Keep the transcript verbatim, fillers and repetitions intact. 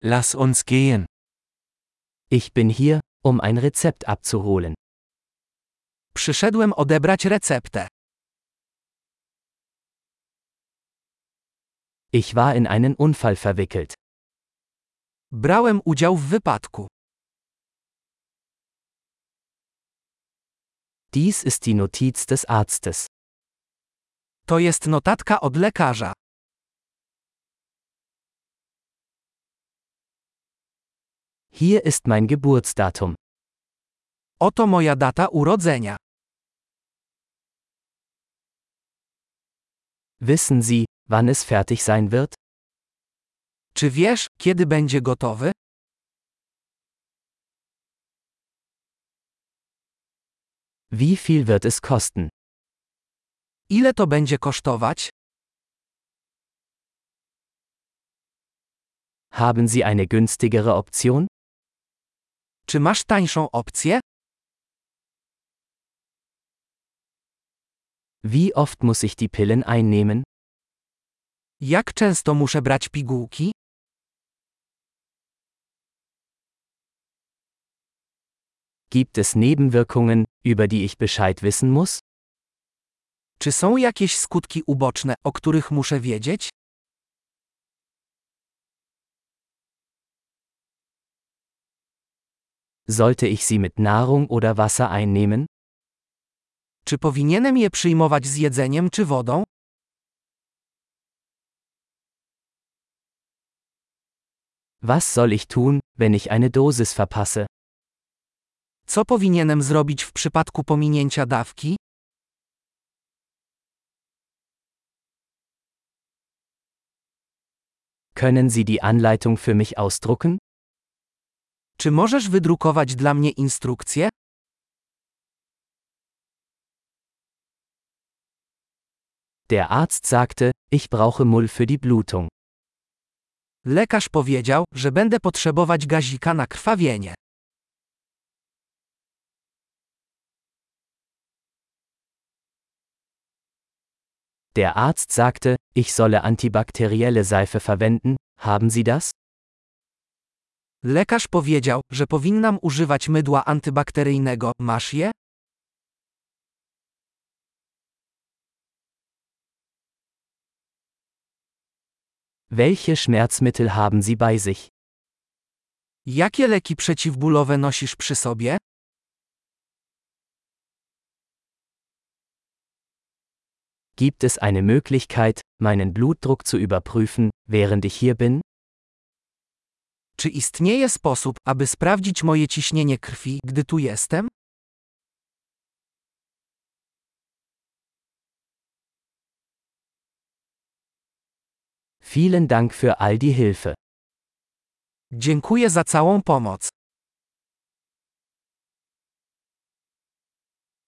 Lass uns gehen. Ich bin hier, um ein Rezept abzuholen. Przyszedłem odebrać receptę. Ich war in einen Unfall verwickelt. Brałem udział w wypadku. Dies ist die Notiz des Arztes. To jest notatka od lekarza. Hier ist mein Geburtsdatum. Oto moja data urodzenia. Wissen Sie, wann es fertig sein wird? Czy wiesz, kiedy będzie gotowy? Wie viel wird es kosten? Ile to będzie kosztować? Haben Sie eine günstigere Option? Czy masz tańszą opcję? Wie oft muss ich die Pillen einnehmen? Jak często muszę brać pigułki? Gibt es Nebenwirkungen, über die ich Bescheid wissen muss? Czy są jakieś skutki uboczne, o których muszę wiedzieć? Sollte ich sie mit Nahrung oder Wasser einnehmen? Czy powinienem je przyjmować z jedzeniem czy wodą? Was soll ich tun, wenn ich eine Dosis verpasse? Co powinienem zrobić w przypadku pominięcia dawki? Können Sie die Anleitung für mich ausdrucken? Czy możesz wydrukować dla mnie instrukcję? Der Arzt sagte, ich brauche Mull für die Blutung. Lekarz powiedział, że będę potrzebować gazika na krwawienie. Der Arzt sagte, ich solle antibakterielle Seife verwenden, haben Sie das? Lekarz powiedział, że powinnam używać mydła antybakteryjnego. Masz je? Welche Schmerzmittel haben Sie bei sich? Jakie leki przeciwbólowe nosisz przy sobie? Gibt es eine Möglichkeit, meinen Blutdruck zu überprüfen, während ich hier bin? Czy istnieje sposób, aby sprawdzić moje ciśnienie krwi, gdy tu jestem? Vielen Dank für all die Hilfe. Dziękuję za całą pomoc.